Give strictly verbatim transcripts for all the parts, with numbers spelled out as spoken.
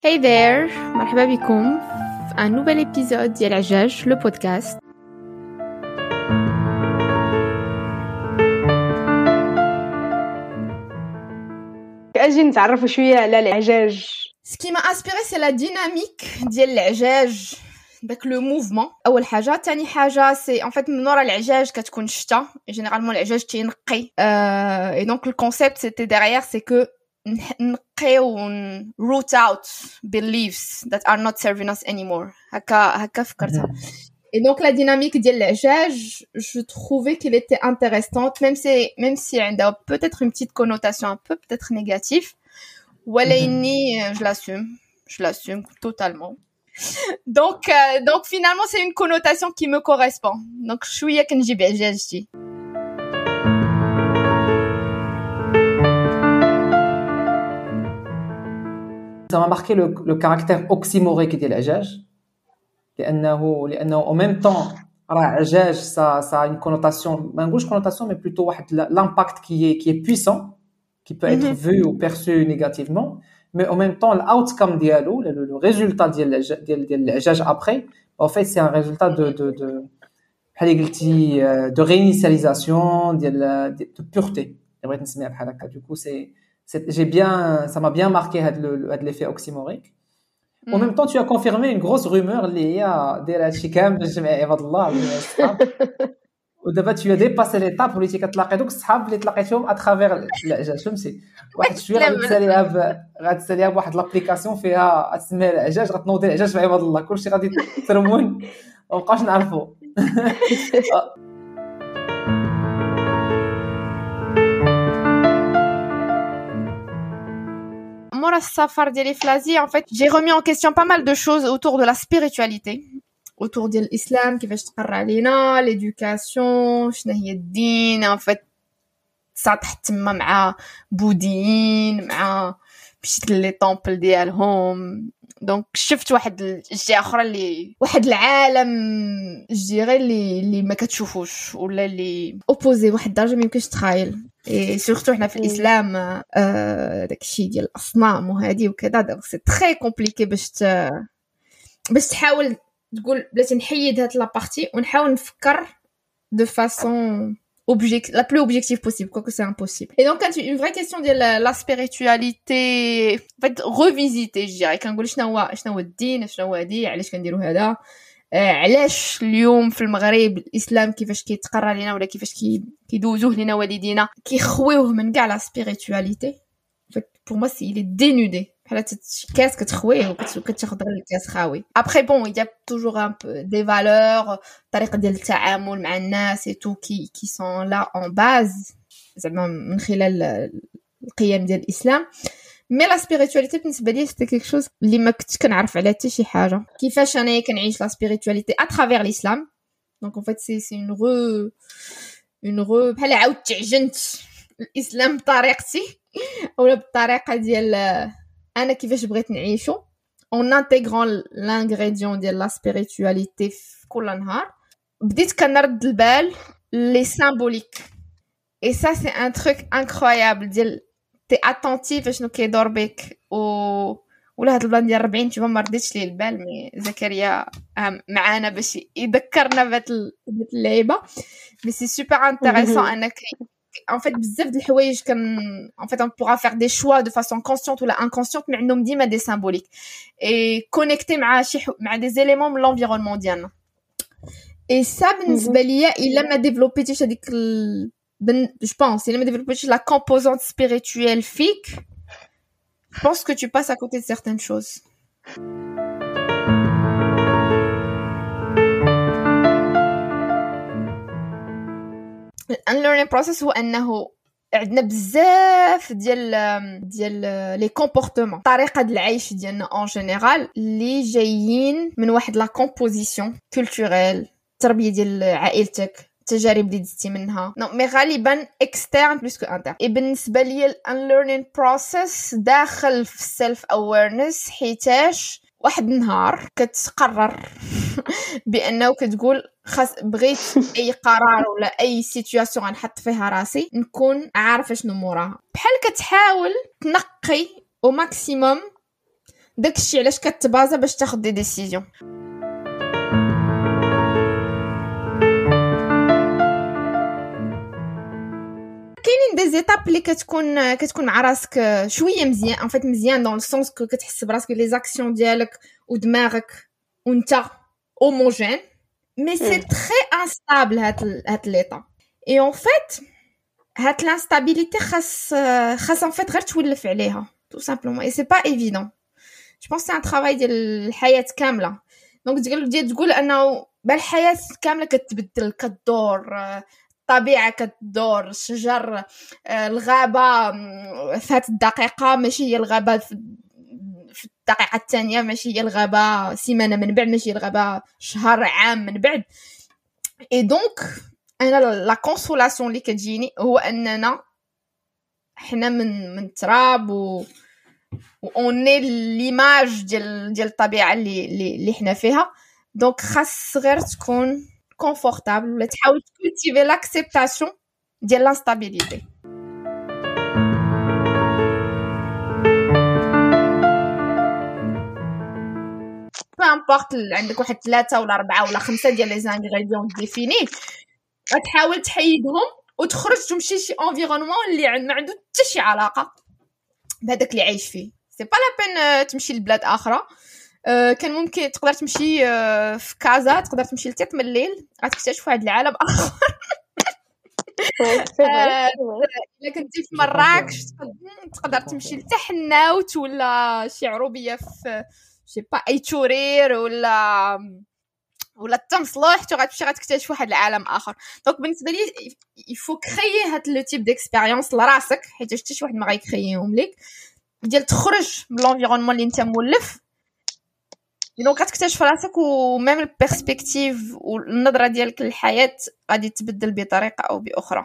Hey there, مرحبا بكم في un nouvel épisode ديال عجاج le podcast. اجي نتعرفوا شويه على العجاج. Ce qui m'a inspiré c'est la dynamique ديال العجاج, داك le mouvement. اول حاجه, ثاني حاجه c'est en fait من ورا العجاج كتكون شتا, généralement العجاج تينقي. Euh, et donc le concept c'était derrière c'est que نقيو root out beliefs that are not serving us anymore. هكا هكا فكرتها. Et donc la dynamique ديال العجاج, je trouvais qu'il était intéressante, même si même si عندها peut-être une petite connotation un peu peut-être négative. ولكني je l'assume, je l'assume totalement. Donc euh, donc finalement c'est une connotation qui me correspond. Donc شويه كنجيب عجاجتي. Ça m'a marqué le, le caractère oxymorique ديال العجاج لأنه لأنه en même temps راه عجاج ça ça a une connotation, ما نقولش connotation mais plutôt واحد l'impact qui est qui est puissant, qui peut être Mhm. vu ou perçu négativement, mais en même temps l'outcome ديالو le, le résultat ديال ديال ديال العجاج après en fait c'est un résultat de de de بحال اللي قلتي de réinitialisation ديال de pureté. بغيت نسميها بحال هكا. Du coup c'est c'est j'ai bien ça m'a bien marqué هاد le هاد l'effet oxymorique. En même temps, tu as confirmé une grosse rumeur liée à داير هادشي كامل باش تجمع عباد الله وجمع الصحاب. ودابا tu as dépassé l'étape اللي كتلاقي دوك الصحاب اللي تلاقيتهم à travers العجاج, فهمتي؟ واحد شويه غادي تساليها ب غادي تساليها بواحد لابليكاسيون فيها اسمها العجاج, غتنوضي العجاج مع عباد الله, كلشي غادي ترمون ومابقاوش نعرفوا. Moi, la safar ديالي في l'Asie, en fait, j'ai remis en question pas mal de choses autour de la spiritualité, autour de l'islam, كيفاش تقرا علينا, l'éducation, شنو هي الدين, en fait, ça تحت تما مع بوذيين, مع مشيت لي طومبل ديالهم. دونك شفت واحد الجهه اخرى اللي واحد العالم جيري اللي اللي ما كتشوفوش ولا اللي اوبوزي واحد الدرجه ما يمكنش تخايل. اي سورتو حنا في الاسلام آه داكشي ديال الاصنام وهذه وكذا, دونك سي تري كومبليكي باش ت... باش تحاول تقول بلاتي نحيد هاد لابارتي ونحاول نفكر de façon objective, la plus objective possible, quoique c'est impossible. Et donc, quand une vraie question de la, la spiritualité, en fait, revisiter, je dirais, كنقول شنو هو شنو هو الدين, شنو هو هادي, علاش كنديروا هذا, علاش اليوم في المغرب الاسلام كيفاش كيتقرا لينا ولا كيفاش كي كيدوزوه لينا والدينا كيخويوه من كاع لا spiritualité. En fait, pour moi, c'est il est dénudé. بحال كاس كتخويه وكتاخذ غير الكاس خاوي. Après bon, il y a toujours un peu des valeurs, طريقه ديال التعامل مع الناس et tout qui qui sont là en base زعما من خلال القيم ديال الاسلام. مي لا سبيريتواليتي بالنسبه لي سيتي كيك شوز اللي ما كنتش كنعرف عليها حتى شي حاجه. كيفاش انايا كنعيش لا سبيريتواليتي ا ترافير الاسلام. دونك en fait c'est c'est une re une re بحال عاود تعجنت الاسلام بطريقتي ولا بالطريقه ديال انا كيفاش بغيت نعيشو en intégrant l'ingrédient ديال لا سبيريتواليتي في كل نهار. بديت كنرد البال لي سامبوليك et ça c'est un truc incroyable ديال تي اتونتيف شنو كيدور بك و ولا هاد البلان ديال أربعين تشوف ما رديتش ليه البال. مي زكريا معانا باش يذكرنا بهاد اللعيبه. مي سي سوبر انتريسون انك en fait بزاف د الحوايج كان en fait on pourra faire des choix de façon consciente ou inconsciente mais عندهم ديما des symboliques et connecter مع شي مع des éléments من l'environnement ديالنا. et ça بالنسبه ليا الا ما ديفلوبيتيش هذيك ال... ben, je pense الا ما ديفلوبيتيش la composante spirituelle fique, je pense que tu passes à côté de certaines choses. unlearning process هو انه عندنا بزاف ديال ديال لي كومبورتمون, طريقه د العيش ديالنا اون جينيرال اللي جايين من واحد لا كومبوزيسيون كولتوريل, التربيه ديال عائلتك, التجارب اللي دزتي منها, نو مي غالبا اكسترن بلوس كو انتر. اي بالنسبه ليا الانليرنينغ بروسيس داخل في السيلف اويرنس, حيتاش واحد النهار كتقرر بانه كتقول خاص بغيت اي قرار ولا اي سيتوياسيون غنحط فيها راسي نكون عارفه شنو موراها. بحال كتحاول تنقي او ماكسيموم داكشي علاش كتبازا باش تاخد دي ديسيزيون. كاينين دي زيتاب اللي كتكون كتكون مع راسك شويه مزيان ان فيت مزيان دون السونس كو كتحس براسك لي زاكسيون ديالك ودماغك وانت هوموجين مي سي تري انستابل هاد هاد ليطا اي ان فيت هاد لانستابيليتي خاص خاص ان فيت غير تولف عليها تو سامبلومون اي سي با ايفيدون. جو بونس سي ان ترافاي ديال الحياه كامله. دونك تقول ديال تقول انه بالحياه كامله كتبدل كدور الطبيعه كتدور الشجر الغابه في هاد الدقيقه ماشي هي الغابه في الدقيقه الثانيه ماشي هي الغابه سيمانه من بعد ماشي هي الغابه شهر عام من بعد. اي دونك انا لا كونسولاسيون اللي كتجيني هو اننا حنا من من التراب و اوني ليماج ديال ديال الطبيعه اللي اللي حنا فيها. دونك خاص غير تكون كونفورتابل ولا تحاول تكولتيفي لاكسبتاسيون ديال لانستابيليتي. امبورط عندك واحد ثلاثة ولا أربعة ولا خمسة ديال لي زانغريديون ديفيني غتحاول تحيدهم وتخرج تمشي شي انفيرونمون اللي ما عنده حتى شي علاقه بهذاك اللي عايش فيه. سي با لا بين تمشي لبلاد اخرى. أه كان ممكن تقدر تمشي أه في كازا تقدر تمشي لتيت من الليل غتكتشف واحد العالم اخر. الا كنتي في مراكش تقدر تمشي لتحناوت ولا شي عروبيه في شي با اي تورير ولا ولا التمصلوح غتمشي غتكتشف واحد العالم اخر. دونك بالنسبه لي يفو كريي هاد لو تيب ديكسبيريونس لراسك حيت حتى شي واحد ما غيكرييهم ليك ديال تخرج من لونفيرونمون اللي انت مولف. دونك غتكتشف راسك وميم البيرسبكتيف والنظره ديالك للحياه غادي تبدل بطريقه او باخرى.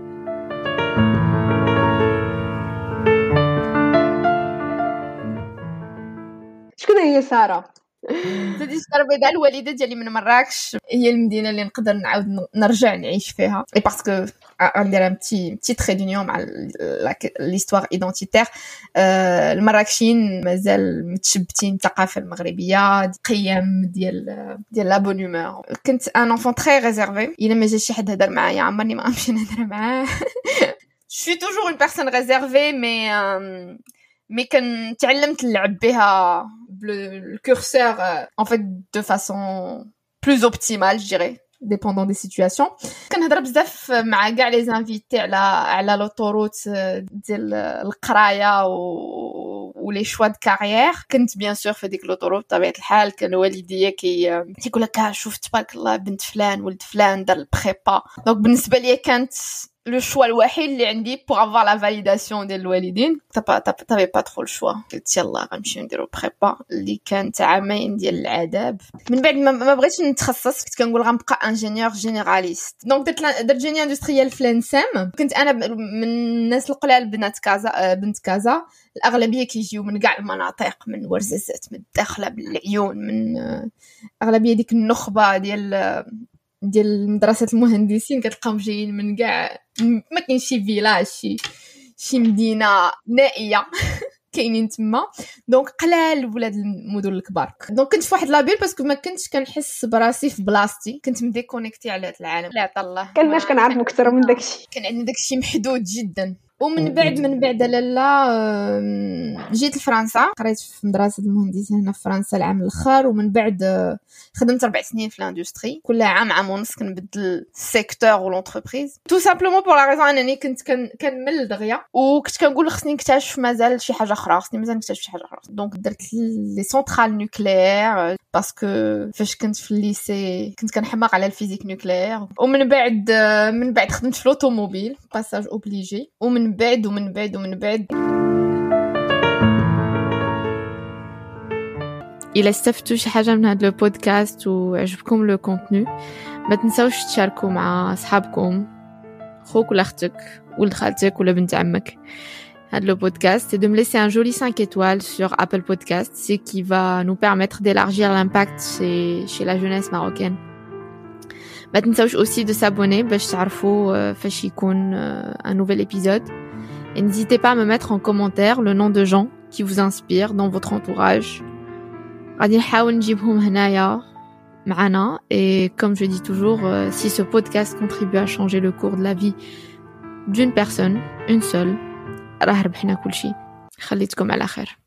شكون هي ساره؟ زادي الساره البيضاء الوالده ديالي من مراكش هي المدينه اللي نقدر نعاود نرجع نعيش فيها. اي باسكو غندير ان بتي بتي تري دونيون مع ليستوار ايدونتيتير. المراكشيين مازال متشبتين الثقافه المغربيه قيم ديال ديال لا بون هومور. كنت ان انفون تري ريزيرفي الا ما جا شي حد هضر معايا عمرني ما غنمشي نهضر معاه. Je suis toujours une personne réservée mais euh, mais كان تعلمت نلعب بها le curseur euh, en fait de façon plus optimale je dirais dépendant des situations. كنهضر بزاف مع كاع لي زانفيتي على على لوطوروت ديال القرايه و ولي شوا د كارير. كنت بيان سور في ديك لوطوروت بطبيعه الحال كان والديا كي كيقول لك شوف تبارك الله بنت فلان ولد فلان دار البريبا. دونك بالنسبه لي كانت le choix الوحيد اللي عندي pour avoir la validation ديال الوالدين. t'avais pas trop le choix. قلت يلا غنمشي نديرو بريبا اللي كانت عامين ديال العذاب. من بعد ما, ما بغيتش نتخصص كنت كنقول غنبقى انجينيور جينيراليست. دونك درت درت جيني اندستريال في لانسام. كنت انا من الناس القلال بنات كازا بنت كازا الاغلبيه كيجيو من كاع المناطق من ورزازات من الداخله بالعيون من اغلبيه ديك النخبه ديال ديال مدرسه المهندسين كتلقاهم جايين من كاع ما كاين شي فيلاج شي شي مدينه نائيه كاينين تما. دونك قلال ولاد المدن الكبار. دونك كنت في واحد لابيل باسكو ما كنتش كنحس براسي في بلاصتي كنت مديكونيكتي على هذا العالم. لا عطا الله كناش كنعرف اكثر من داكشي كان عندنا داكشي محدود جدا. ومن بعد من بعد لالا جيت لفرنسا قريت في مدرسه المهندسين هنا في فرنسا العام الاخر. ومن بعد خدمت اربع سنين في الاندستري كل عام عام ونص كنبدل السيكتور ولونتربريز تو سامبلومون بور لا ريزون انني كنت كنمل دغيا وكنت كنقول خصني نكتشف مازال شي حاجه اخرى خصني مازال نكتشف شي حاجه اخرى. دونك درت لي سونترال نوكليير باسكو فاش كنت في الليسي كنت كنحماق على الفيزيك نوكليير. ومن بعد من بعد خدمت في لوطوموبيل باساج اوبليجي. ومن بعد ومن بعد ومن بعد إلا استفدتوا شي حاجه من هذا البودكاست وعجبكم لو كونتوني ما تنساوش تشاركوا مع اصحابكم خوك ولا اختك ولد خالتك ولا بنت عمك هذا le podcast et de me laisser un joli cinq étoiles sur Apple Podcast, ce qui va nous permettre d'élargir l'impact chez chez la jeunesse marocaine. ما تنساوش aussi de s'abonner باش تعرفوا فاش يكون un nouvel épisode. Et n'hésitez pas à me mettre en commentaire le nom de gens qui vous inspirent dans votre entourage. غادي نحاول نجيبهم هنايا معنا. Et comme je dis toujours, euh, si ce podcast contribue à changer le cours de la vie d'une personne, une seule, راه ربحنا كل شيء. خليتكم على خير.